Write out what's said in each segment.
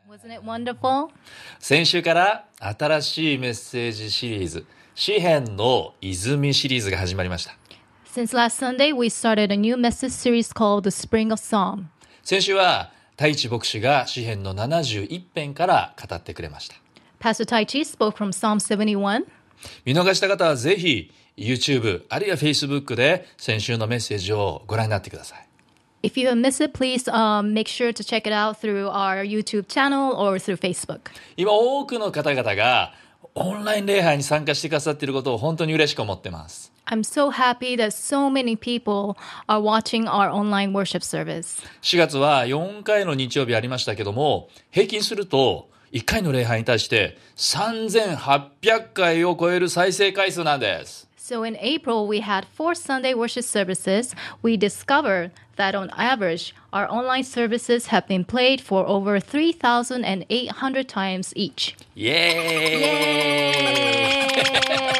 Wasn't it wonderful? 先週から新しいメッセージシリーズ、詩編の泉シリーズが始まりました。 Since last Sunday, we started a new message series called The Spring of Psalm. 先週は太一牧師が詩編の71編から語ってくれました。 Pastor Taichi spoke from Psalm 71. 見逃した方はぜひ YouTube あるいは Facebook で先週のメッセージをご覧になってください。 If you have missed it, please make sure to check it out through our YouTube channel or through Facebook. 今多くの方々がオンライン礼拝に参加してくださっていることを本当に嬉しく思ってます。 I'm so happy that so many people are watching our online worship service. 4月は4回の日曜日ありましたけども、平均すると1回の礼拝に対して3800回を超える再生回数なんです。 So in April, we had 4 Sunday worship services. We discovered that on average, our online services have been played for over 3,800 times each. イエー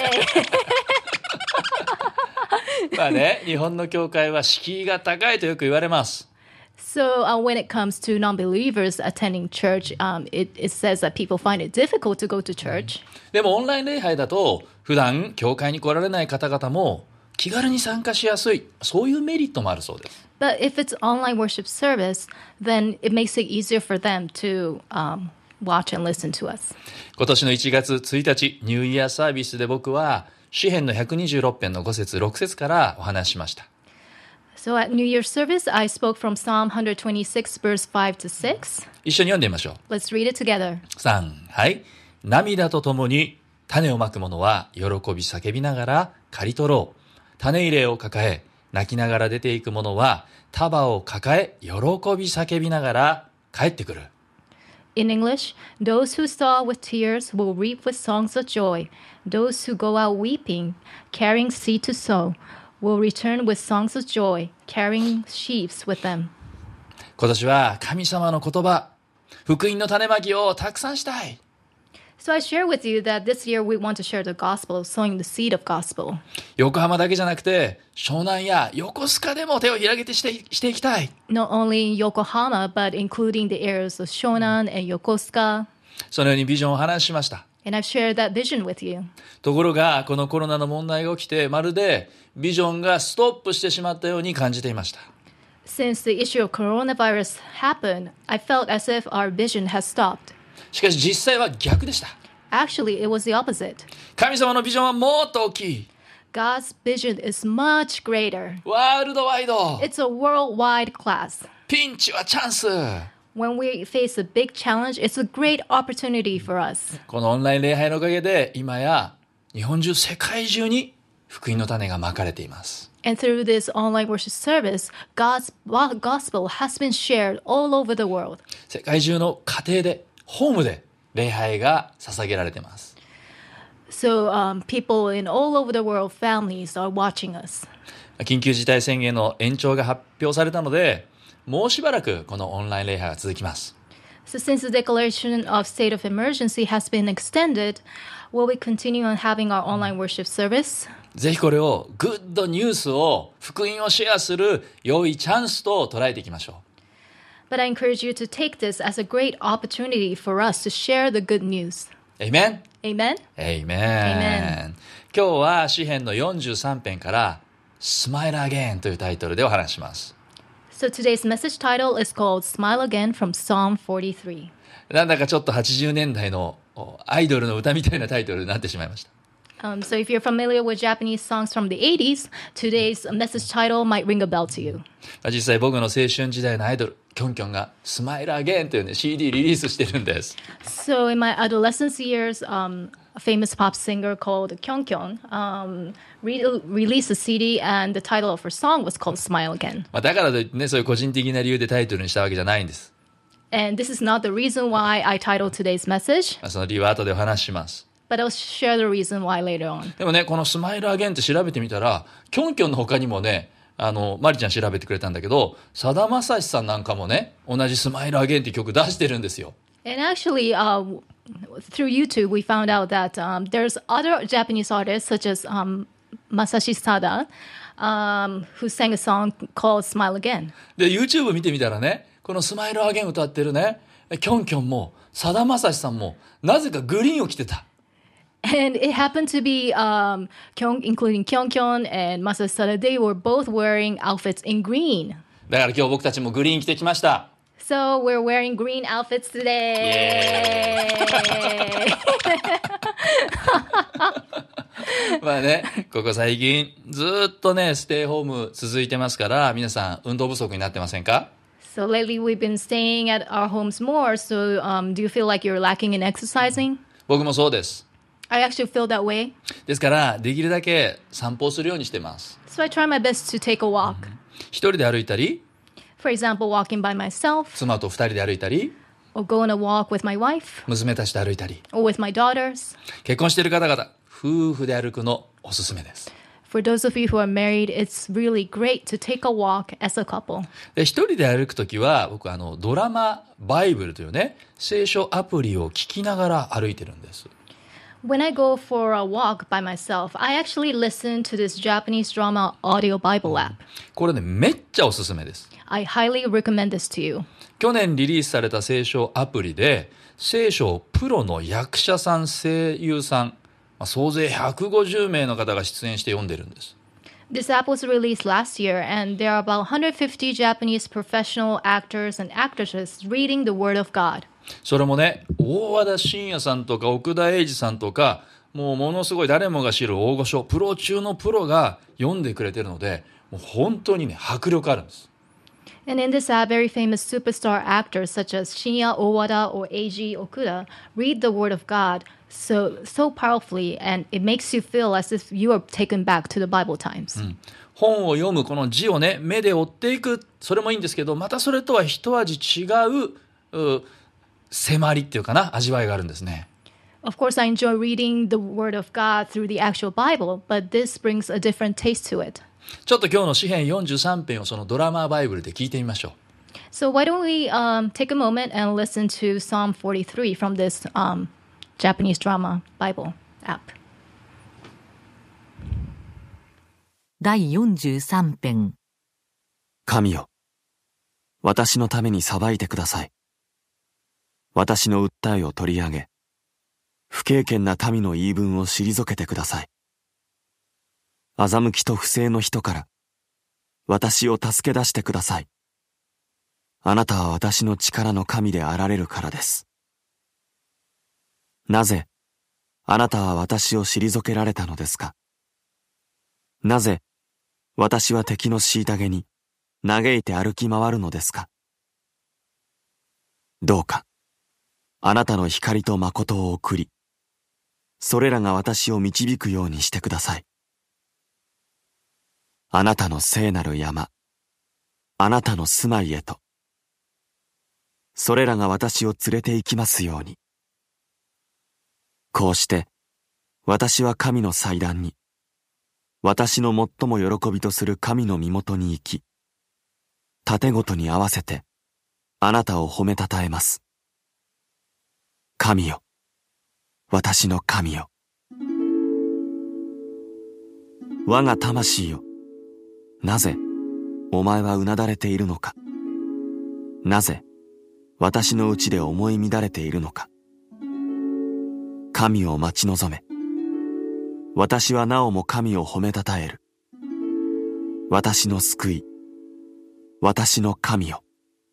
イまあね、日本の教会は敷居が高いとよく言われます。 So when it comes to non-believers attending church, it says that people find it difficult to go to church. でもオンライン礼拝だと普段教会に来られない方々も気軽に参加しやすい、そういうメリットもあるそうです。 But if it's online worship service, then it makes it easier for them to watch and listen to us. 今年の1月1日ニューイヤーサービスで僕は詩編の126編の5節6節からお話ししました。 So at New Year's service, I spoke from Psalm 126, verse 5 to 6. 一緒に読んでみましょう。 Let's read it together. 3、はい。涙とともに種をまく者は喜び叫びながら刈り取ろう。種入れを抱え、泣きながら出ていく者は束を抱え、喜び叫びながら帰ってくる。 In English, those who sow with tears will reap with songs of joy. Those who go out weeping, carrying seed to sow, will return with songs of joy, carrying sheaves with them. 今年は神様の言葉、福音の種まきをたくさんしたい。 So I share with you that this year we want to share the gospel, sowing the seed of gospel. 横浜だけじゃなくて、湘南や横須賀でも手を広げてしていきたい。 Not only in Yokohama, but including the areas of Shonan and Yokosuka. そのようにビジョンをお話ししました。 And I've shared that vision with you. ところが、このコロナの問題が起きて、まるでビジョンがストップしてしまったように感じていました。 Since the issue of coronavirus happened, I felt as if our vision has stopped. しかし実際は逆でした。 Actually, it was the opposite. 神様のビジョンはもっと大きい。 God's vision is much greater. ワールドワイド。 It's a worldwide class. ピンチはチャンス。 When we face a big challenge, it's a great opportunity for us. このオンライン礼拝のおかげで、今や日本中、世界中に福音の種がまかれています。 And through this online worship service, God's gospel has been shared all over the world. 世界中の家庭で、ホームで礼拝が捧げられています。 So people in all over the world, families are watching us. 緊急事態宣言の延長が発表されたので、もうしばらくこのオンライン礼拝が続きます。 So since the declaration of state of emergency has been extended, will we continue on having our online worship service? ぜひこれをグッドニュースを、福音をシェアする良いチャンスと捉えていきましょう。 But I encourage you to take this as a great opportunity for us to share the good news. Amen? Amen? Amen. 今日は詩編の43編からSmile Again というタイトルでお話します。 So today's message title is called Smile Again from Psalm 43. なんだかちょっと80年代のアイドルの歌みたいなタイトルになってしまいました。 So if you're familiar with Japanese songs from the 80s, today's message title might ring a bell to you. 実際僕の青春時代のアイドル、キョンキョンが Smile Again というね CD リリースしてるんです。 So in my adolescence years, a famous pop singer called Kyungkyung released a CD and the title of her song was called Smile Again. だからといってね、そういう個人的な理由でタイトルにしたわけじゃないんです。 And this is not the reason why I titled today's message, その理由は後でお話しします。 but I'll share the reason why later on. でもね、このスマイルアゲンって調べてみたら、キョンキョンの他にもね、マリちゃん調べてくれたんだけど、さだまさしさんなんかもね、同じスマイルアゲンって曲出してるんですよ。 And actually, through YouTube, we found out that there's other Japanese artists such as Masashi Sada, who sang a song called Smile Again. で、YouTube 見てみたらね、このスマイルアゲン歌ってるね、 キョンキョンもさだまさしさんもなぜかグリーンを着てた。 And it happened to be including Kyung Kyun and Masa Sada. They were both wearing outfits in green. だから今日僕たちもグリーン着てきました。 So we're wearing green outfits today. まあね、ここ最近ずっとね、ステイホーム続いてますから、皆さん運動不足になってませんか？ So lately we've been staying at our homes more. So do you feel like you're lacking in exercising? 僕もそうです。 I actually feel that way. ですから、できるだけ散歩をするようにしてます。 So I try my best to take a walk. 一人で歩いたり、 For example, walking by myself, 妻と二人で歩いたり、 or go on a walk with my wife, 娘たちと歩いたり、 or with my daughters. 結婚している方々、夫婦で歩くのおすすめです。 For those of you who are married, it's really great to take a walk as a couple. で、一人で歩くときは、僕ドラマバイブルというね、聖書アプリを聞きながら歩いてるんです。 When I go for a walk by myself, I actually listen to this Japanese drama audio Bible app. これね、めっちゃおすすめです。 I highly recommend this to you. 去年リリースされた聖書アプリで、聖書をプロの役者さん、声優さん、総勢150名の方が出演して読んでるんです。 This app was released last year, and there are about 150 Japanese professional actors and actresses reading the Word of God. それもね、大和田伸也さんとか奥田英二さんとか、もうものすごい誰もが知る大御所、プロ中のプロが読んでくれてるので、もう本当にね、迫力あるんです。 And in this app, very famous superstar actors such as Shinya Owada or Eiji Okuda read the Word of God so powerfully, and it makes you feel as if you are taken back to the Bible times. 本を読むこの字をね、目で追っていく、それもいいんですけど、またそれとは一味違う、迫りっていうかな、味わいがあるんですね。 Of course, I enjoy reading the Word of God through the actual Bible, but this brings a different taste to it. ちょっと今日の詩編43編をそのドラマバイブルで聞いてみましょう。 So why don't we take a moment and listen to Psalm 43 from this Japanese drama Bible app. 第43編。 神よ、私のために裁いてください。私の訴えを取り上げ、不敬虔な民の言い分を退けてください。欺きと不正の人から私を助け出してください。あなたは私の力の神であられるからです。なぜあなたは私を退けられたのですか。なぜ私は敵の虐げに嘆いて歩き回るのですか。どうかあなたの光と誠を送り、それらが私を導くようにしてください。あなたの聖なる山、あなたの住まいへと、それらが私を連れて行きますように。こうして私は神の祭壇に、私の最も喜びとする神の身元に行き、盾ごとに合わせてあなたを褒めたたえます。神よ、私の神よ。我が魂よ、なぜお前はうなだれているのか。なぜ私のうちで思い乱れているのか。神を待ち望め。私はなおも神を褒めたたえる。私の救い、私の神よ。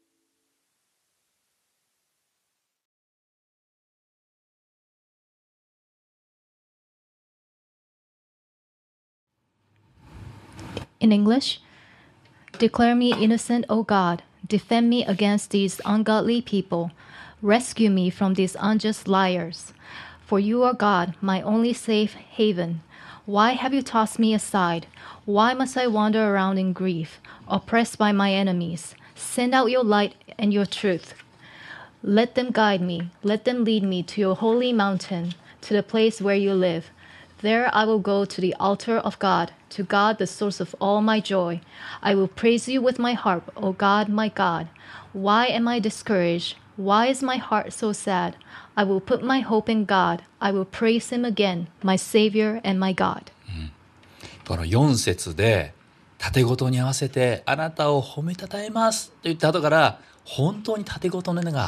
In English, declare me innocent, O God. Defend me against these ungodly people. Rescue me from these unjust liars. For you are God, my only safe haven. Why have you tossed me aside? Why must I wander around in grief, oppressed by my enemies? Send out your light and your truth. Let them guide me. Let them lead me to your holy mountain, to the place where you live. There I will go to the altar of God, to God the source of all my joy. I will praise you with my harp, O God, my God. Why am I discouraged? Why is my heart so sad? I will put my hope in God. I will praise him again, my Savior and my God. この4節で、盾ごとに合わせてあなたを褒めたたえますと言った後から、本当に盾ごとの根が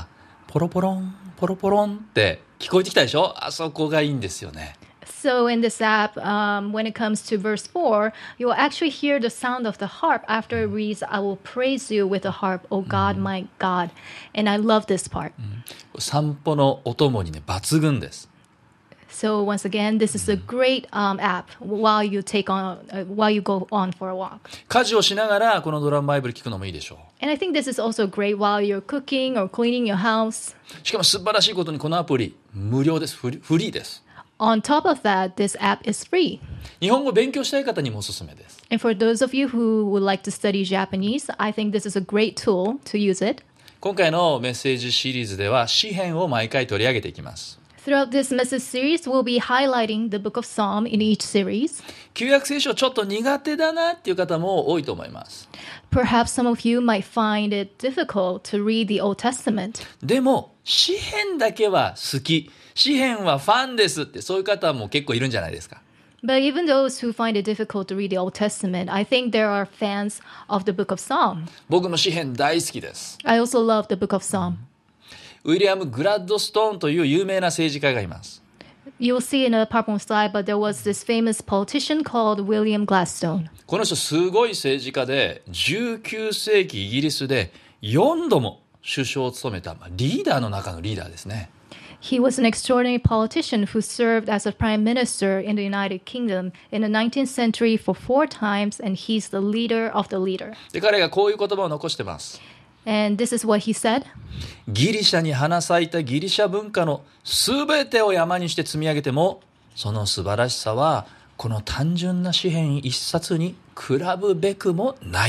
ポロポロン、ポロポロンって聞こえてきたでしょ？あそこがいいんですよね。 So in this app, when it comes to verse 4, you'll actually hear the sound of the harp after it reads, I will praise you with the harp, O God, my God. And I love this part. 散歩のお供にね、抜群です。 So once again, this is a great app while you go on for a walk. 家事をしながらこのドラムバイブル聞くのもいいでしょ And I think this is also great while you're cooking or cleaning your house. う。しかも素晴らしいことにこのアプリ無料です。フリーです。 On top of that, this app is free. 日本語を勉強したい方にもおすすめです。 And for those of you who would like to study Japanese, I think this is a great tool to use it. 今回のメッセージシリーズでは詩編を毎回取り上げていきます。 Throughout this message series, we'll be highlighting the book of Psalm in each series. 旧約聖書ちょっと苦手だなっていう方も多いと思います。 Perhaps some of you might find it difficult to read the Old Testament. でも詩編だけは好き。詩編はファンですってそういう方も結構いるんじゃないですか。 But even those who find it difficult to read the Old Testament, I think there are fans of the book of Psalm. 僕も詩編大好きです。 I also love the book of Psalm. ウィリアム・グラッドストーンという有名な政治家がいます。 You'll see in a PowerPoint slide, but there was this famous politician called William Gladstone. この人すごい政治家で19世紀イギリスで4度も首相を務めたリーダーの中のリーダーですね。 He was an extraordinary politician who served as a prime minister in the United Kingdom in the 19th century for 4 times, and he's the leader of the leader. で彼がこういう言葉を残してます。 And this is what he said. ギリシャに花咲いたギリシャ文化のすべてを山にして積み上げてもその素晴らしさはこの単純な詩編一冊に比ぶべくもない。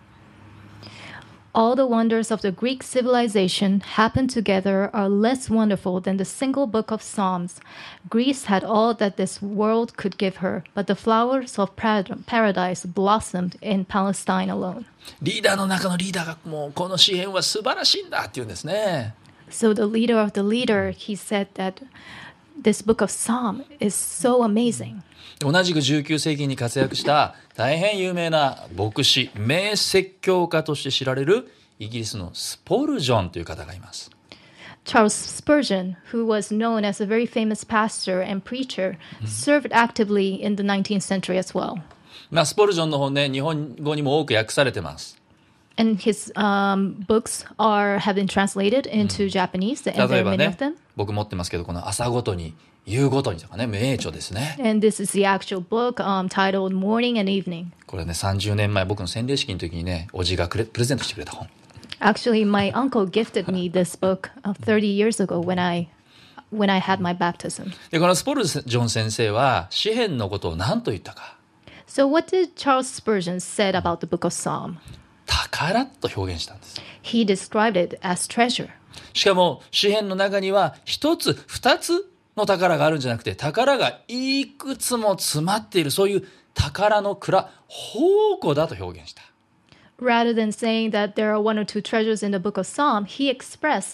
All the wonders of the Greek civilization happened together are less wonderful than the single book of Psalms. Greece had all that this world could give her, but the flowers of paradise blossomed in Palestine alone. リーダーの中のリーダーがもうこの詩編は素晴らしいんだって言うんですね。 So the leader of the leader, he said that this book of Psalm is so amazing. 同じく19世紀に活躍した大変有名な牧師、名説教家として知られるイギリスのスポルジョンという方がいます。 Charles Spurgeon, who was known as a very famous pastor and preacher, served actively in the 19th century as well. スポルジョンの本ね、日本語にも多く訳されてます。 And his books have been translated into Japanese, and 例 there え are ば many ね of them. 僕持ってますけどこの朝ごとに夕ごとにとかね名著ですね。 And this is the actual book titled Morning and Evening. これね30年前僕の洗礼式の時にねおじがプレゼントしてくれた本。 Actually, my uncle gifted me this book 30 years ago when I had my baptism. でこのスポルジョン先生は詩編のことを何と言ったか。 So what did Charles Spurgeon said about the book of Psalm? 宝と表現したんです。 He described it as treasure. しかも詩編の中には一つ二つの宝があるんじゃなくて宝がいくつも詰まっているそういう宝の蔵宝庫だと表現した。 Rather than saying that there are 1 or 2 treasures in the book of Psalm, he expressed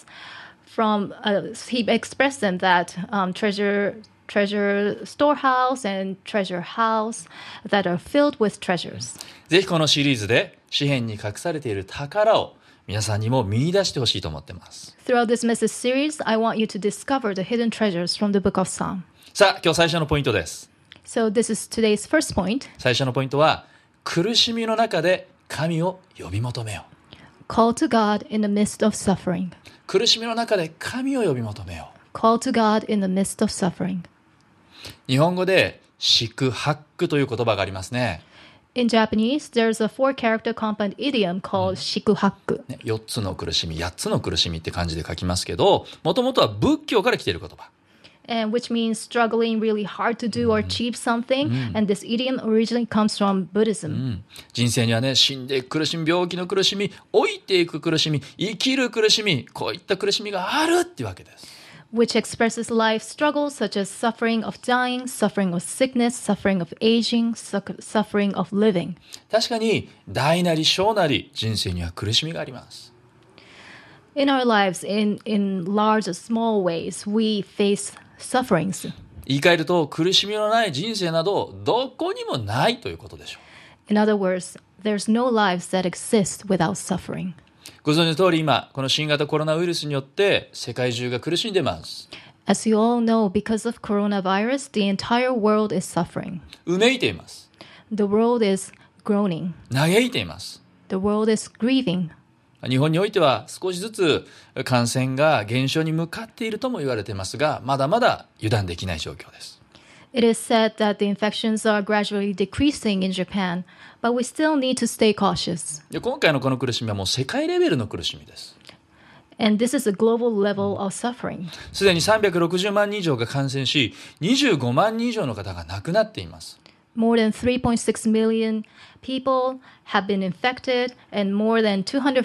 them that treasure storehouse and treasure house that are filled with treasures. ぜひこのシリーズで詩編に隠されている宝を皆さんにも見出してほしいと思っています。 Throughout this message series, I want you to discover the hidden treasures from the book of Psalm. さあ今日最初のポイントです。 So this is today's first point. 最初のポイントは苦しみの中で神を呼び求めよう。 Call to God in the midst of suffering. 苦しみの中で神を呼び求めよう。 Call to God in the midst of suffering. 日本語で四苦八苦という言葉がありますね。 In Japanese, there's a 4-character compound idiom called shikuhaku. 4つの苦しみ、8つの苦しみって感じで書きますけど、もともとは仏教から来ている言葉。 And which means struggling really hard to do or achieve something. And this idiom originally comes from Buddhism. 人生にはね、死んでいく苦しみ、病気の苦しみ、老いていく苦しみ、生きる苦しみ、こういった苦しみがあるっていうわけです。 Which expresses life struggles such as suffering of dying, suffering of sickness, suffering of aging, suffering of living. 確かに大なり小なり人生には苦しみがあります。 In our lives, in large or small ways, we face sufferings. 言い換えると苦しみのない人生などどこにもないということでしょう。 In other words, there's no lives that exist without suffering. ご存知の通り今、この新型コロナウイルスによって世界中が苦しんでいます。 As you all know, because of coronavirus, the entire world is suffering. うめいています。 The world is groaning. 嘆いています。 The world is grieving. 日本においては少しずつ感染が減少に向かっているとも言われていますが、まだまだ油断できない状況です。 It is said that the infections are gradually decreasing in Japan, but we still need to stay cautious. で、今回のこの苦しみはもう世界レベルの苦しみです。 And this is a global level of suffering. すでに360万人以上が感染し、25万人以上の方が亡くなっています。 More than 3.6 million people have been infected, and more than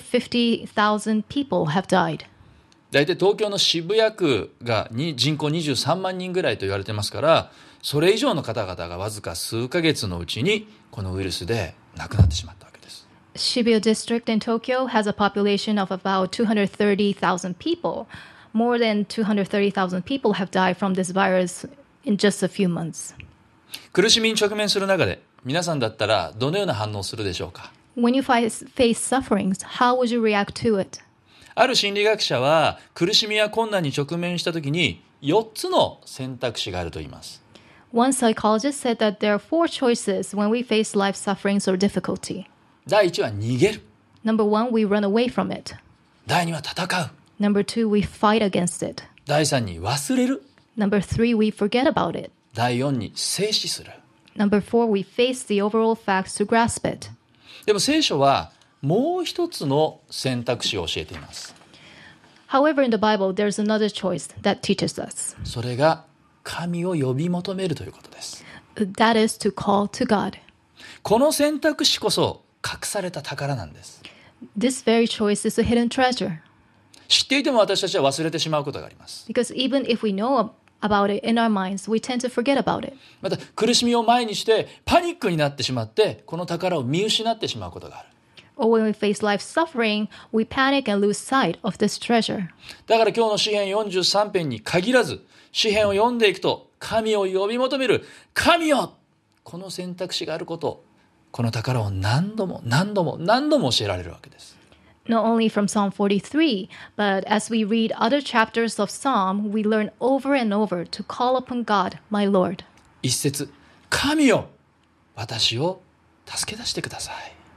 250,000 people have died. 大体東京の渋谷区が人口23万人ぐらいと言われてますから、それ以上の方々がわずか数ヶ月のうちにこのウイルスで亡くなってしまったわけです。 Shibuya district in Tokyo has a population of about 230,000 people. More than 230,000 people have died from this virus in just a few months. 苦しみに直面する中で、皆さんだったらどのような反応をするでしょうか。 When you face sufferings, how would you react to it? ある心理学者は苦しみや困難に直面したときに4つの選択肢があると言います。 One psychologist said that there are 4 choices when we face life sufferings or difficulty. 第1は逃げる。 Number 1, we run away from it. 第2は戦う。 Number 2, we fight against it. 第3に忘れる。 Number 3, we forget about it. 第4に静止する。 Number 4, we face the overall facts to grasp it. でも聖書はもう一つの選択肢を教えています。 However, in the Bible, there's another choice that teaches us. それが神を呼び求めるということです。 That is to call to God. この選択肢こそ隠された宝なんです。 This very choice is a hidden treasure. 知っていても私たちは忘れてしまうことがあります。 Because even if we know about it in our minds, we tend to forget about it. また苦しみを前にしてパニックになってしまってこの宝を見失ってしまうことがある。 Or when we face life suffering, we panic and lose sight of this treasure. だから今日の詩編43編に限らず詩編を読んでいくと神を呼び求める神よ、この選択肢があること、この宝を何度も何度も何度も教えられるわけです。 Not only from Psalm 43, but as we read other chapters of Psalm, we learn over and over to call upon God, my Lord. 一節、神よ、私を助け出してください。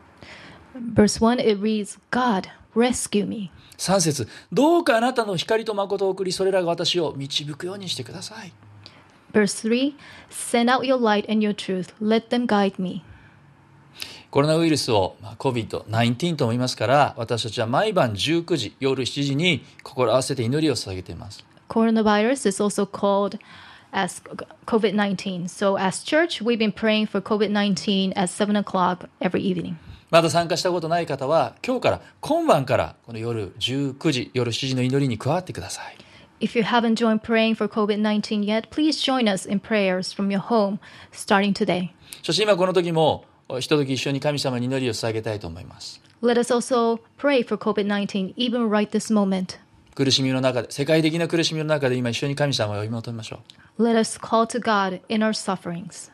Verse 1, it reads, God, rescue me. 3節、どうかあなたの光と誠を送り、それらが私を導くようにしてください。 Verse 3, send out your light and your truth. Let them guide me. コロナウイルスをCOVID-19 とも言いますから、私たちは毎晩19時、夜7時に心合わせて祈りを捧げています。 Coronavirus is also called as COVID-19. So as church, we've been praying for COVID-19 at 7 o'clock every evening. まだ参加したことない方は、今晩からこの夜19時、夜7時の祈りに加わってください。 If you haven't joined praying for COVID-19 yet, please join us in prayers from your home starting today. そして今この時も、ひととき一緒に神様に祈りを捧げたいと思います。 Let us also pray for COVID-19 even right this moment. 苦しみの中で、世界的な苦しみの中で今一緒に神様を呼び求めましょう。 Let us call to God in our sufferings.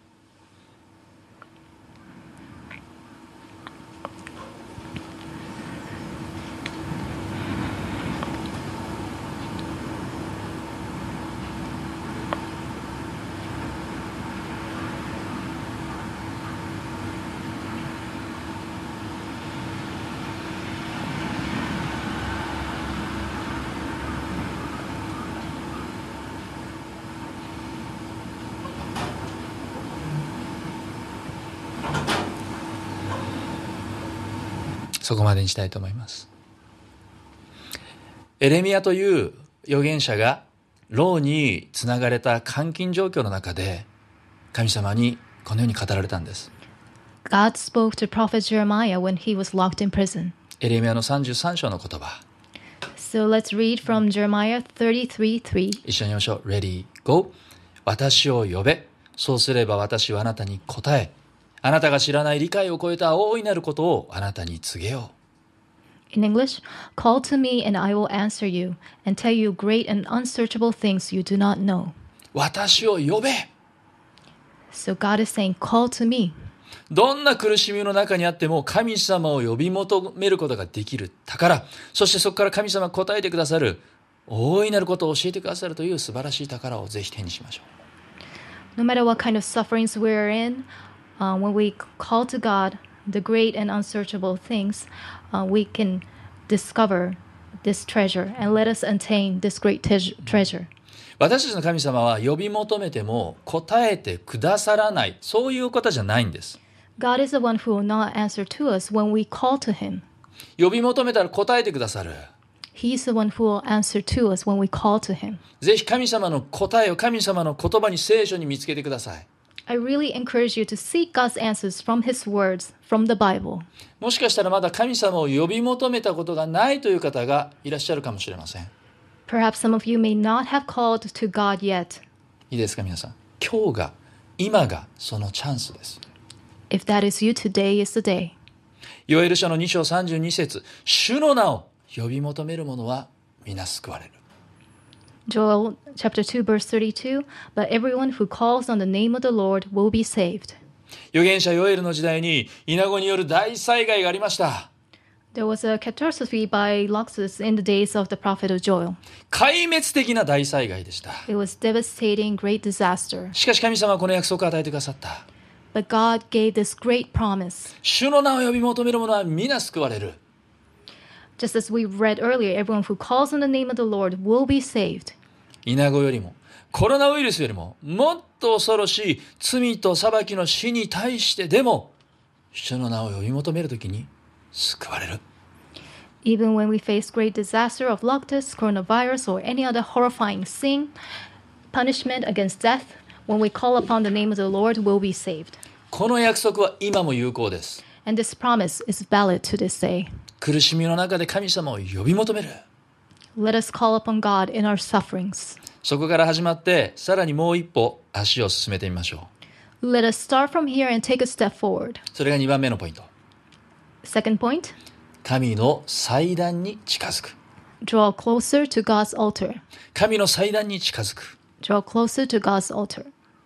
そこまでにしたいと思います。エレミヤという預言者が牢につながれた監禁状況の中で神様にこのように語られたんです。 God spoke to prophet Jeremiah when he was locked in prison. エレミヤの33章の言葉。 So let's read from Jeremiah 33:3. 一緒に言いましょう。Ready, go. 私を呼べ。そうすれば私はあなたに答え、あなたが知らない理解を超えた大いなることをあなたに告げよう。 In English, call to me and I will answer you and tell you great and unsearchable things you do not know. 私を呼べ。 So God is saying, call to me. どんな苦しみの中にあっても神様を呼び求めることができる宝、そしてそこから神様が答えてくださる、大いなることを教えてくださるという素晴らしい宝をぜひ手にしましょう。 No matter what kind of sufferings we're in, when we call to God, the great and unsearchable things, we can discover this treasure and let us attain this great treasure. 私たちの神様は呼び求めても答えてくださらない、そういう方じゃないんです。 God is the one who will not answer to us when we call to Him. 呼び求めたら答えてくださる。 He is the one who will answer to us when we call to Him. ぜひ神様の答えを神様の言葉に、聖書に見つけてください。 I really encourage you to seek God's answers from His words, from the Bible. もしかしたらまだ神様を呼び求めたことがないという方がいらっしゃるかもしれません。 Perhaps some of you may not have called to God yet. いいですか皆さん。今日が、今がそのチャンスです。 If that is you, today is the day. ヨエル書の2章32節、主の名を呼び求める者は皆救われる。 Joel chapter 2 verse 32, but everyone who calls on the name of the Lord will be saved. 預言者ヨエルの時代にイナゴによる大災害がありました。 There was a catastrophe by locusts in the days of the prophet of Joel. 壊滅的な大災害でした。 It was devastating, great disaster. しかし神様はこの約束を与えてくださった。 But God gave this great promise. 主の名を呼び求める者は皆救われる。 Just as we read earlier, everyone who calls on the name of the Lord will be saved. イナゴよりもコロナウイルスよりももっと恐ろしい罪と裁きの死に対してでも主の名を呼び求めるときに救われる。 Even when we face great disaster of locusts, coronavirus, or any other horrifying sin, punishment against death, when we call upon the name of the Lord, we'll be saved. この約束は今も有効です。 And this promise is valid to this day. 苦しみの中で神様を呼び求める。 Let us call upon God in our sufferings. そこから始まってさらにもう一歩足を進めてみましょう。 Let us start from here and take a step forward. それが2番目のポイント。 Second point, 神の祭壇に近づく。 draw closer to God's altar. 神の祭壇に近づく。 Draw closer to God's altar.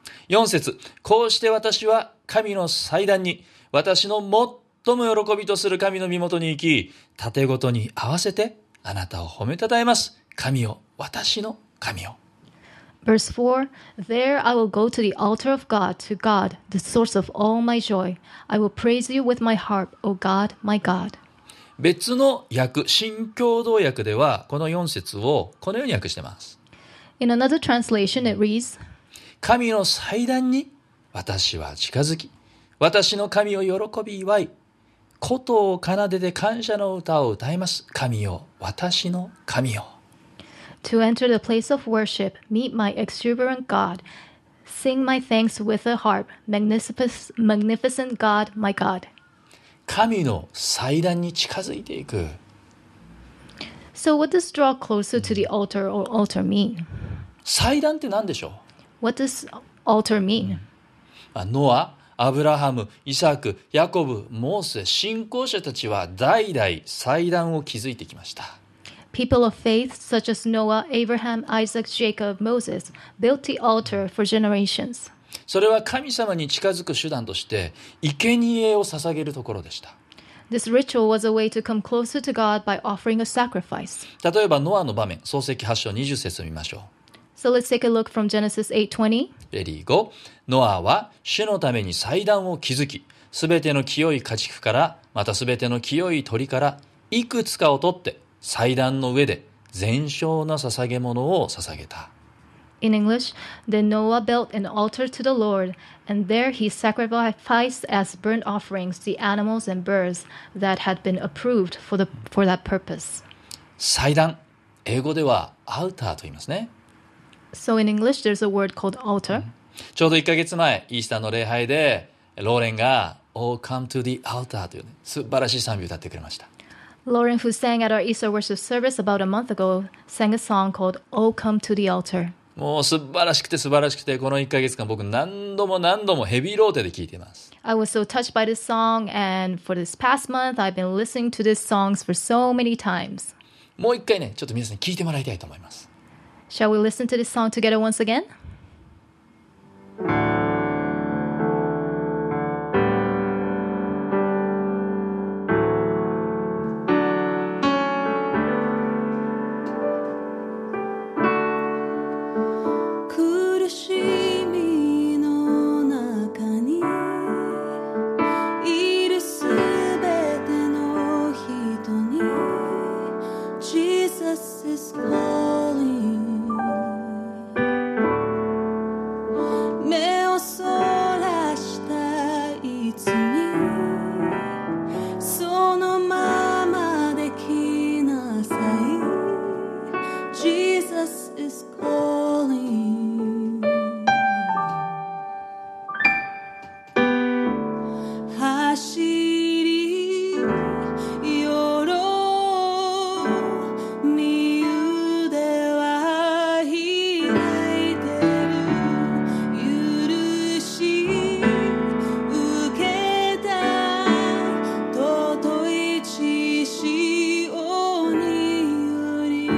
4節、こうして私は神の祭壇に私の最も喜びとする神の身元に行き、盾ごとに合わせてあなたを褒めたたえます。神よ、私の神よ。 Verse 4, There I will go to the altar of God, to God, the source of all my joy. I will praise you with my harp, O God, my God. 別の訳、新共同訳ではこの4節をこのように訳しています。 In another translation, it reads, 神の祭壇に私は近づき、私の神を喜び祝い、琴を奏でて感謝の歌を歌います。神よ、私の神よ。 To enter the place of worship, meet my exuberant God. Sing my thanks with a harp, magnificent God, my God. 神の祭壇に近づいていく。 So what does draw closer to the altar or altar mean? 祭壇って何でしょ What does altar mean? う？ノア、アブラハム、イサク、ヤコブ、モーセ、信仰者たちは代々祭壇を築いてきました。 People of faith such as Noah, Abraham, Isaac, Jacob, Moses built the altar for generations. それは神様に近づく手段として生贄を捧げるところでした。 This ritual was a way to come closer to God by offering a sacrifice. 例えばノアの場面、創世記8章20節を見ましょう。 So let's take a look from Genesis 8:20. レディーゴー。ノアは主のために祭壇を築き、すべての清い家畜から、またすべての清い鳥からいくつかを取って祭壇の上で全焼の捧げ物を捧げた。 In English, then Noah built an altar to the Lord, and there he sacrificed as burnt offerings the animals and birds that had been approved for that purpose. 祭壇、英語ではアウターと言いますね。 So in English, there's a word called altar. ちょうど1ヶ月前、イースターの礼拝でローレンが Oh, come to the altar という、ね、素晴らしい賛美を歌ってくれました。 Lauren, who sang at our Easter worship service about a month ago, sang a song called Oh, Come to the Altar. もう素晴らしくて素晴らしくて、この1ヶ月間僕何度もヘビーローテで聴いています。 I was so touched by this song, and for this past month, I've been listening to these songs for so many times. もう一回ね、ちょっと皆さんに聴いてもらいたいと思います。 Shall we listen to this song together once again? Jesus is calling 目をそらしたいつにそのままできなさい Jesus is calling 走りよろう身腕は開いてる許し受けた尊い血潮により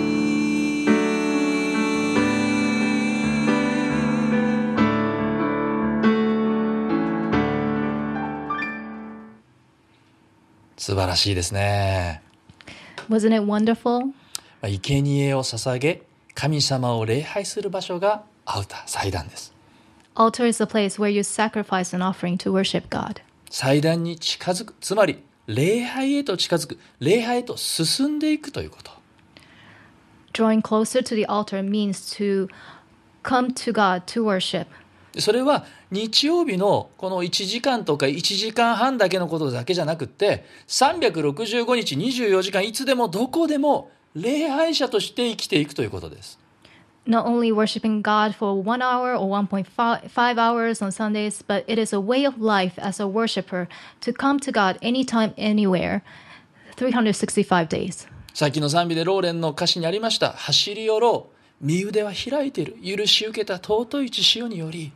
素晴らしいですね。 Wasn't it wonderful? 生贄を捧げ、神様を礼拝する場所がアウター、祭壇です。 Altar is a place where you sacrifice an offering to worship God. 祭壇に近づく、つまり礼拝へと近づく、礼拝へと進んでいくということ。 Drawing closer to the altar means to come to God to worship. それは日曜日のこの1時間とか1時間半だけのことだけじゃなくって365日24時間いつでもどこでも礼拝者として生きていくということです。 Not only worshiping God for 1 hour or 1.5 hours on Sundays, but it is a way of life as a worshiper to come to God anytime, anywhere, 365 days. さっきの賛美でローレンの歌詞にありました。走り寄ろう。身腕は開いている。許し受けた尊い血潮により。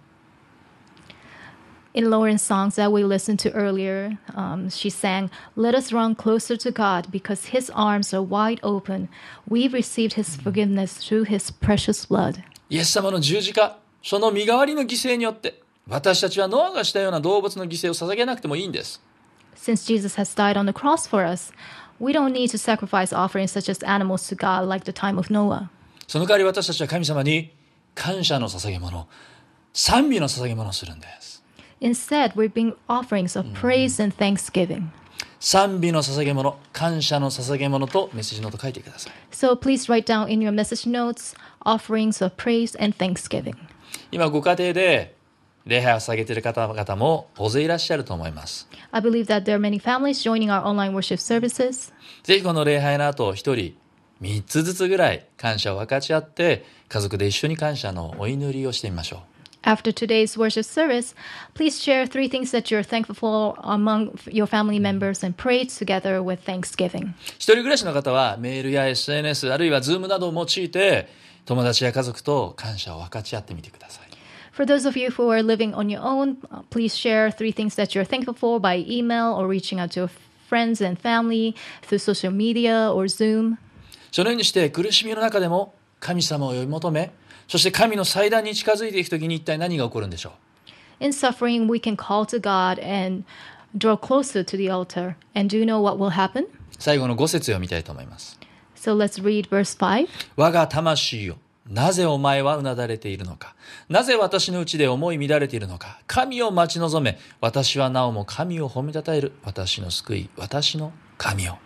In Lauren's songs that we listened to earlier, she sang, "Let us run closer to God because His arms are wide open. We've received His forgiveness through His precious blood." イエス様の十字架、その身代わりの犠牲によって、私たちはノアがしたような動物の犠牲を捧げなくてもいいんです。 Since Jesus has died on the cross for us, we don't need to sacrifice offerings such as animals to God like the time of Noah. その代わり私たちは神様に感謝の捧げ物、賛美の捧げ物をするんです。 Instead, we bring offerings of praise and thanksgiving. 賛美の捧げ物、感謝の捧げ物とメッセージノート書いてください。 So please write down in your message notes offerings of praise and thanksgiving. 今ご家庭で礼拝を捧げている方々も大勢いらっしゃると思います。 I believe that there are many families joining our online worship services. ぜひこの礼拝の後一人3つずつぐらい感謝を分かち合って家族で一緒に感謝のお祈りをしてみましょう。 After today's worship service, please share 3 things that you're thankful for among your family members and pray together with thanksgiving. 一人暮らしの方はメールや SNS あるいは Zoom などを用いて友達や家族と感謝を分かち合ってみてください。 For those of you who are living on your own, please share 3 things that you're thankful for by email or reaching out to your friends and family through social media or Zoom. そのようにして苦しみの中でも神様を呼び求め、そして神の祭壇に近づいていくときに一体何が起こるんでしょう。 In suffering, we can call to God and draw closer to the altar. And do you know what will happen? 最後の5節を見たいと思います。 So let's read verse 5. 我が魂よ、なぜお前はうなだれているのか。なぜ私のうちで思い乱れているのか。神を待ち望め。私はなおも神を褒めたたえる。私の救い、私の神よ。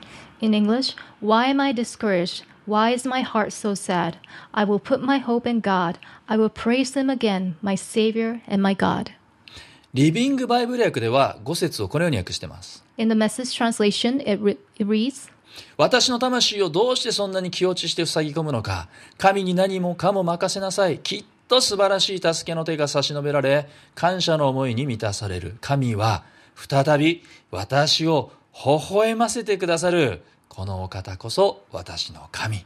In English, why am I discouraged? Why is my heart so sad? I will put my hope in God. I will praise Him again, my Savior and my God. リビングバイブル訳では5節をこのように訳しています。 In the Message translation, it reads, 私の魂をどうしてそんなに気落ちして塞ぎ込むのか。神に何もかも任せなさい。きっと素晴らしい助けの手が差し伸べられ、感謝の思いに満たされる。神は再び私を微笑ませてくださる。このお方こそ私の神。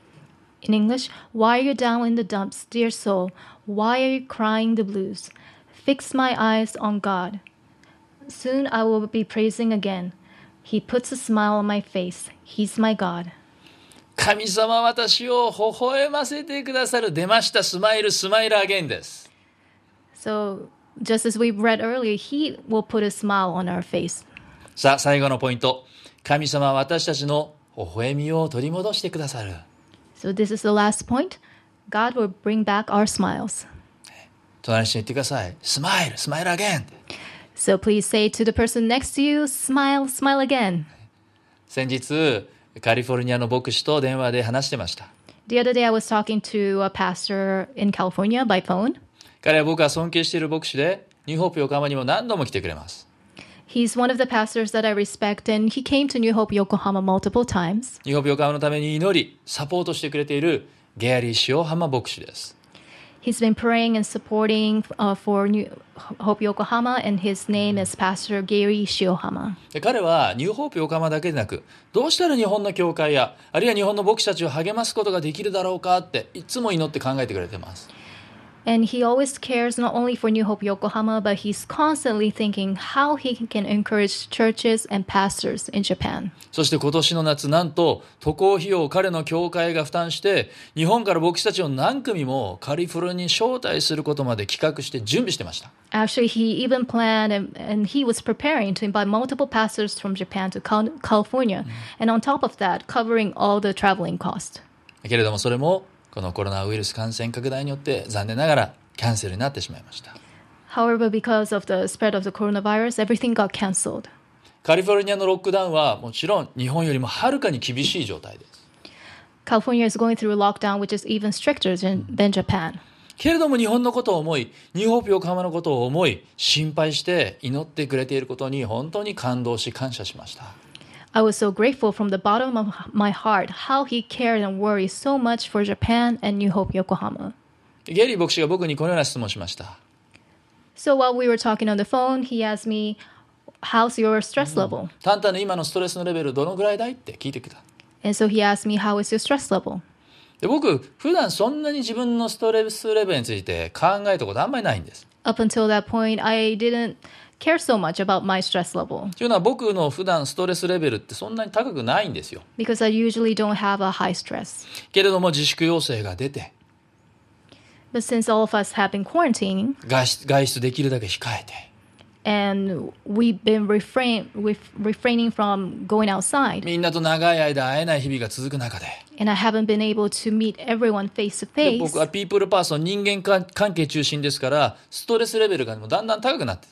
In English, why are you down in the dumps, dear soul? Why are you crying the blues? Fix my eyes on God. Soon I will be praising again. He puts a smile on my face. He's my God. 神様は私を微笑ませてくださる。出ました。スマイル、スマイルアゲインです。 So, just as we read earlier, He will put a smile on our face. さあ、最後のポイント。神様は私たちの微笑みを取り戻してくださる。 So this is the last point. God will bring back our smiles. 隣の人に言ってください。スマイル、スマイルアゲイン。 So please say to the person next to you, smile, smile again. 先日、 カリフォルニアの牧師と電話で話してました。 The other day I was talking to a pastor in California by phone. 彼は僕が尊敬している牧師で、ニューホープ横浜にも何度も来てくれます。 He's one of the pastors that I respect, and he came to New Hope Yokohama multiple times. ニューホープ横浜のために祈り、サポートしてくれているゲアリー・塩浜牧師です。 He's been praying and supporting for New Hope Yokohama, and his name is Pastor Gary Shiohama. で彼はニューホープ横浜だけでなく、どうしたら日本の教会や、あるいは日本の牧師たちを励ますことができるだろうかっていつも祈って考えてくれてます。 And he always cares not only for New Hope Yokohama, but he's constantly thinking how he can encourage churches and pastors in Japan. そして今年の夏、なんと渡航費用を彼の教会が負担して、日本から牧師たちを何組もカリフォルニアに招待することまで企画して準備してました。 Actually, he even planned and he was preparing to invite multiple pastors from Japan to California. And on top of that, covering all the traveling cost. けれどもそれもこのコロナウイルス感染拡大によって残念ながらキャンセルになってしまいました。 However, because of the spread of the coronavirus, everything got canceled. カリフォルニアのロックダウンはもちろん日本よりもはるかに厳しい状態です。 California is going through a lockdown which is even stricter than Japan. けれども日本のことを思い、ニューホープ横浜のことを思い、心配して祈ってくれていることに本当に感動し感謝しました。 I was so grateful from the bottom of my heart how he cared and worried so much for Japan and New Hope Yokohama. ゲリー牧師が僕にこのような質問をしました。 So while we were talking on the phone, he asked me, how's your stress level? タンタの今のストレスのレベルどのぐらいだいって聞いてきた。 And so he asked me, how is your stress level? で僕、普段そんなに自分のストレスレベルについて考えたことあんまりないんです。 Up until that point, I didn't care so much about my stress level. というのは僕の普段ストレスレベルってそんなに高くないんですよ。 Because I usually don't have a high stress. けれども自粛要請が出て、 But since all of us have been quarantining, 外出できるだけ控えて、 and we've been refraining from going outside, みんなと長い間会えない日々が続く中で、 and I haven't been able to meet everyone face to で face, 僕はピープルパーソン、人間関係中心ですから、ストレスレベルがもうだんだん高くなって、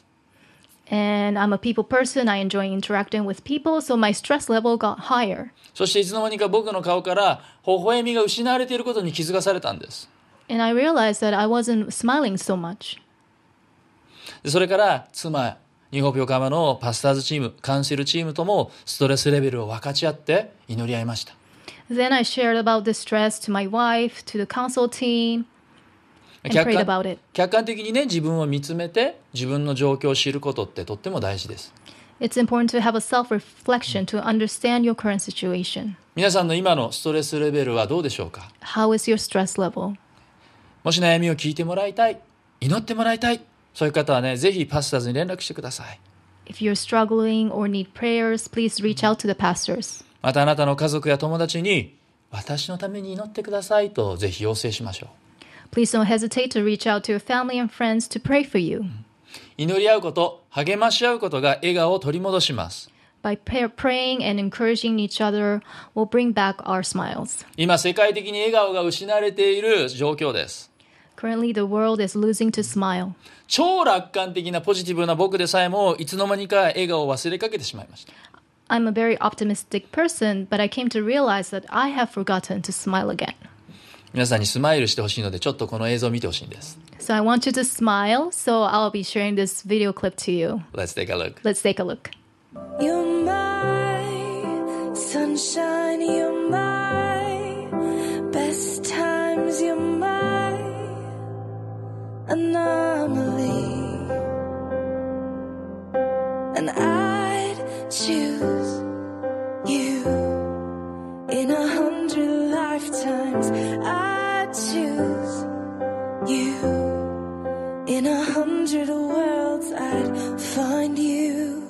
and I'm a people person. I enjoy interacting with people, so my stress level got higher. そしていつの間にか僕の顔から微笑みが失われていることに気づかされたんです。 And I realized that I wasn't smiling so much. でそれから妻、ニューホープ横浜のパスターズチーム、カウンセルチームともストレスレベルを分かち合って祈り合いました。 Then I shared about the stress to my wife, to the council team, and prayed about it. 客観的にね、自分を見つめて自分の状況を知ることってとっても大事です。 It's important to have a self-reflection to understand your current situation. 皆さんの今のストレスレベルはどうでしょうか。 How is your stress level? もし悩みを聞いてもらいたい、祈ってもらいたい、そういう方はね、ぜひパスターズに連絡してください。 If you're struggling or need prayers, please reach out to the pastors. またあなたの家族や友達に私のために祈ってくださいとぜひ要請しましょう。 Please don't hesitate to reach out to your family and friends to pray for you. 祈り合うこと、励まし合うことが笑顔を取り戻します。 By praying and encouraging each other will bring back our smiles. 今世界的に笑顔が失われている状況です。 Currently, the world is losing to smile. 超楽観的なポジティブな僕でさえもいつの間にか笑顔を忘れかけてしまいました。 I'm a very optimistic person, but I came to realize that I have forgotten to smile again. 皆さんにスマイルしてほしいのでちょっとこの映像を見てほしいんです。 So I want you to smile, so I'll be sharing this video clip to you. Let's take a look. Let's take a look. You're my sunshine, you're my best times, you're my anomaly. And I'd choose you in 100 lifetimes. I'd choose you in 100 worlds. I'd find you,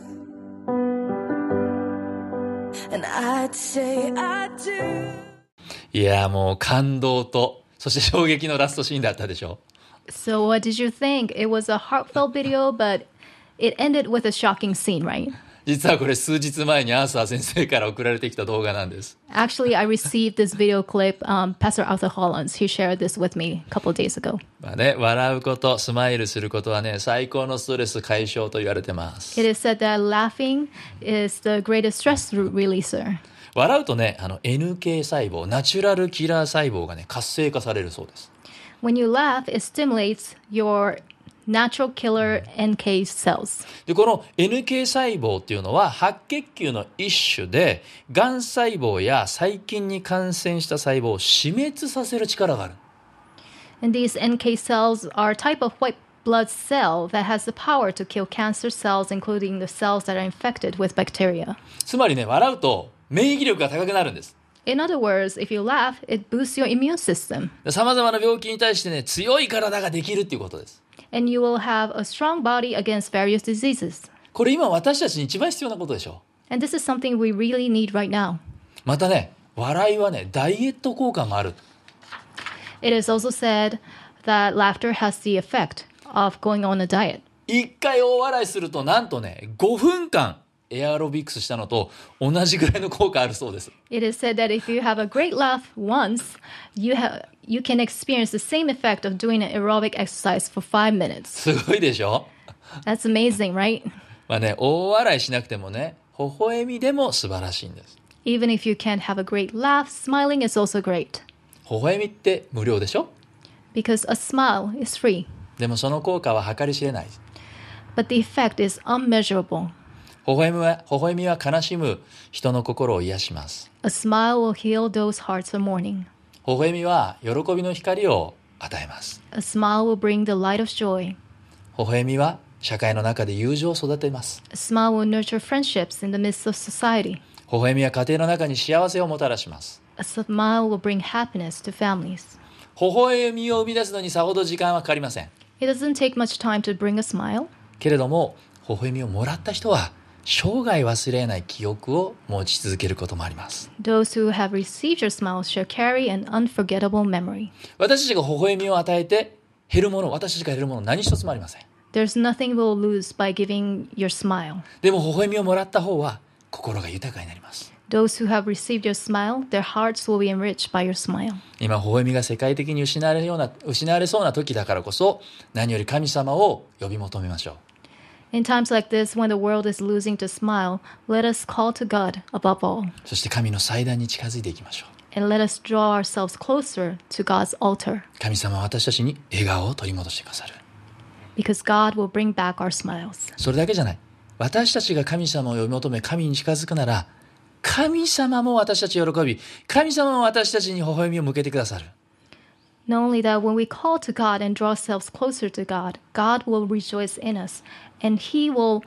and I'd say I do. いやもう感動とそして衝撃のラストシーンだったでしょ。 So what did you think? It was a heartfelt video, but it ended with a shocking scene, right? 実はこれ数日前にアーサー先生から送られてきた動画なんです。 Actually, I received this video clip. Pastor Arthur Hollins, he shared this with me a couple of days ago. まあね、笑うこと、スマイルすることはね、最高のストレス解消と言われてます。 It is said that laughing is the greatest stress releaser. 笑うとね、NK 細胞、ナチュラルキラー細胞がね、活性化されるそうです。 When you laugh, it stimulates your natural killer NK cells. で、この NK 細胞っていうのは白血球の一種で、がん細胞や細菌に感染した細胞を死滅させる力がある。 And these NK cells are a type of white blood cell that has the power to kill cancer cells, including the cells that are infected with bacteria. つまりね、笑うと免疫力が高くなるんです。 In other words, if you laugh, it boosts your immune system. さまざまな病気に対してね、強い体ができるっていうことです。 And you will have a strong body against various diseases. これ今私たちに一番必要なことでしょ。 And this is something we really need right now. またね、笑いはね、ダイエット効果もある。 It is also said that laughter has the effect of going on a diet. 一回大笑いするとなんとね、5分間エアロビクスしたのと同じぐらいの効果あるそうです。 It is said that if you have a great laugh once, you can experience the same effect of doing an aerobic exercise for 5 minutes. すごいでしょ。 That's amazing, right? まあね、大笑いしなくてもね、微笑みでも素晴らしいんです。 Even if you can't have a great laugh, smiling is also great. 微笑みって無料でしょ。 Because a smile is free. でもその効果は計り知れない。 But the effect is unmeasurable. 微笑みは悲しむ人の心を癒します。 A smile will heal those hearts of mourning. 微笑みは喜びの光を与えます。 A smile will bring the light of joy. 微笑みは社会の中で友情を育てます。 A smile will nurture friendships in the midst of society. 微笑みは家庭の中に幸せをもたらします。 A smile will bring happiness to families. 微笑みを生み出すのにさほど時間はかかりません。 It doesn't take much time to bring a smile. けれども、微笑みをもらった人は生涯忘れない記憶を持ち続けることもあります。 Those who have received your smile shall carry an unforgettable memory. 私たちが微笑みを与えて減るもの、私たちが減るもの何一つもありません。 There's nothing we'll lose by giving your smile. でも微笑みをもらった方は心が豊かになります。 Those who have received your smile, their hearts will be enriched by your smile. 今微笑みが世界的に失われそうな時だからこそ、何より神様を呼び求めましょう。 In times like this, when the world is losing to smile, let us call to God above all. そして神の祭壇に近づいていきましょう。 And let us draw ourselves closer to God's altar. 神様は私たちに笑顔を取り戻してくださる。 Because God will bring back our smiles. それだけじゃない。私たちが神様を呼び求め、神に近づくなら、神様も私たちを喜び、神様も私たちに微笑みを向けてくださる。 Not only that, when we call to God and draw ourselves closer to God, God will rejoice in us, and He will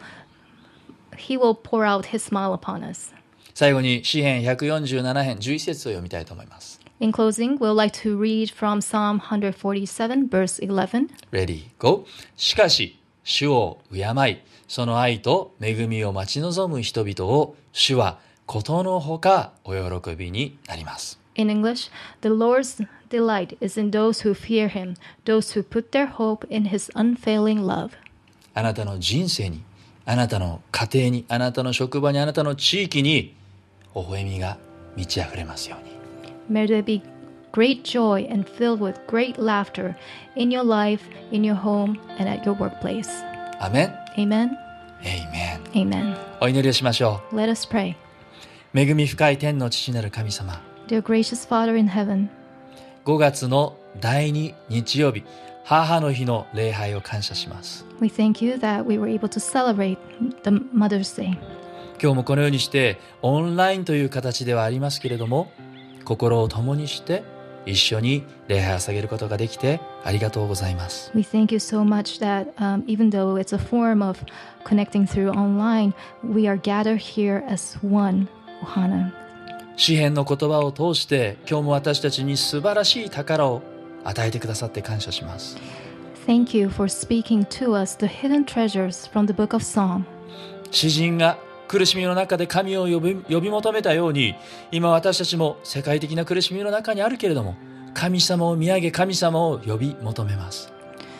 pour out His smile upon us. 最後に詩編147編11節を読みたいと思います。 In closing, we'd like to read from Psalm 147, verse 11. Ready, go. しかし、主を敬い、その愛と恵みを待ち望む人々を、主はことのほかお喜びになります。 In English, the Lord's delight is in those who fear Him, those who put their hope in His unfailing love. あなたの人生に、あなたの家庭に、あなたの職場に、あなたの地域に、微笑みが満ち溢れますように。 May there be great joy and filled with great laughter in your life, in your home, and at your workplace. アメン。 Amen. エイメン。 Amen. お祈りをしましょ Let us pray. う。恵み深い天の父なる神様。 Dear gracious Father in heaven, 5月の第2日曜日、母の日の礼拝を感謝します。 we thank you that we were able to celebrate the Mother's Day. 今日もこのようにしてオンラインという形ではありますけれども、心を共にして一緒に礼拝を捧げることができてありがとうございます。 We thank you so much that even though it's a form of connecting through online, we are gathered here as one, Ohana. 詩編の言葉を通して今日も私たちに素晴らしい宝を与えてくださって感謝します。 Thank you for speaking to us the hidden treasures from the book of Psalm. 詩人が苦しみの中で神を呼び求めたように、今私たちも世界的な苦しみの中にあるけれども、神様を見上げ神様を呼び求めます。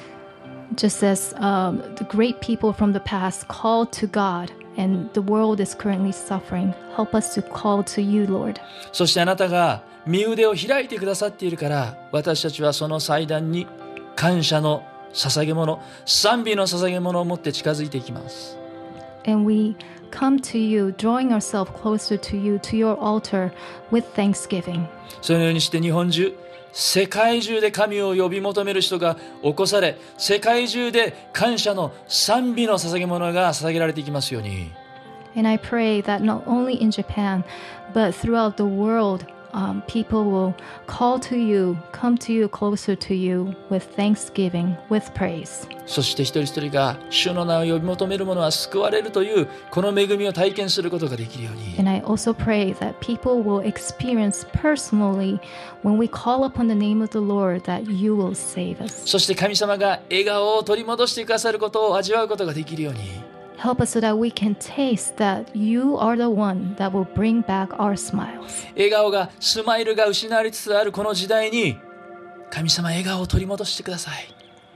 Just as the great people from the past called to God and the world is currently suffering, help us to call to you, Lord. そしてあなたが身腕を開いてくださっているから、私たちはその祭壇に感謝の捧げ物、賛美の捧げ物を持って近づいていきます。 And we come to you, drawing ourselves closer to you, to your altar with thanksgiving. そのようにして日本中、世界中で神を呼び求める人が起こされ、世界中で感謝の賛美の捧げ物が捧げられていきますように。 And I pray that not only in Japan, but throughout the world, people will call to you, come to you, closer to you with thanksgiving, with praise. そして一人一人が主の名を呼び求める者は救われるというこの恵みを体験することができるように。 And I also pray that people will experience personally when we call upon the name of the Lord that you will save us. そして神様が笑顔を取り戻してくださることを味わうことができるように。 Help us so that we can taste that you are the one that will bring back our smiles. 笑顔が、スマイルが失われつつあるこの時代に、神様笑顔を取り戻してください。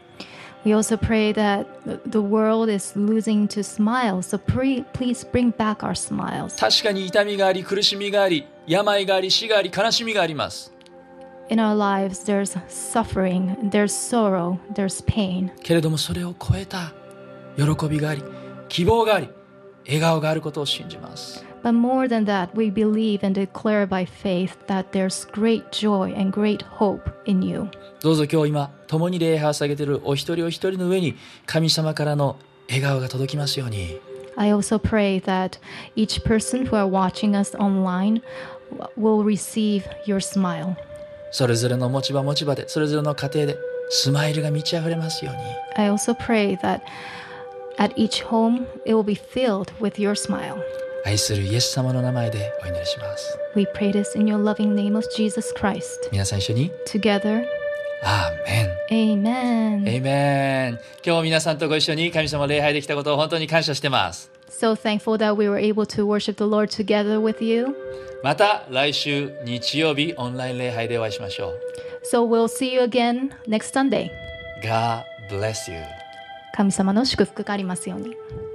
We also pray that the world is losing to smiles, so please bring back our smiles. 確かに痛みがあり、苦しみがあり、病があり、死があり、悲しみがあります。 In our lives, there's suffering, there's sorrow, there's pain. けれどもそれを超えた喜びがあり、希望があり、笑顔があることを信じます。 But more than that, we believe and declare by faith that there's great joy and great hope in you. どうぞ今日今、共に礼拝を捧げているお一人お一人の上に、神様からの笑顔が届きますように。 I also pray that each person who are watching us online will receive your smile. それぞれの持ち場持ち場で、それぞれの家庭で、スマイルが満ち溢れますように。 I also pray that at each home, it will be filled with your smile. 愛するイエス様の名前でお祈りします。 We pray this in your loving name of Jesus Christ. 皆さん一緒に。 Together, アーメン。 Amen. エイメン。今日も皆さんとご一緒に神様を礼拝できたことを本当に感謝してます。 So thankful that we were able to worship the Lord together with you. また来週日曜日オンライン礼拝でお会いしましょう。 So we'll see you again next Sunday. God bless you. 神様の祝福がありますように。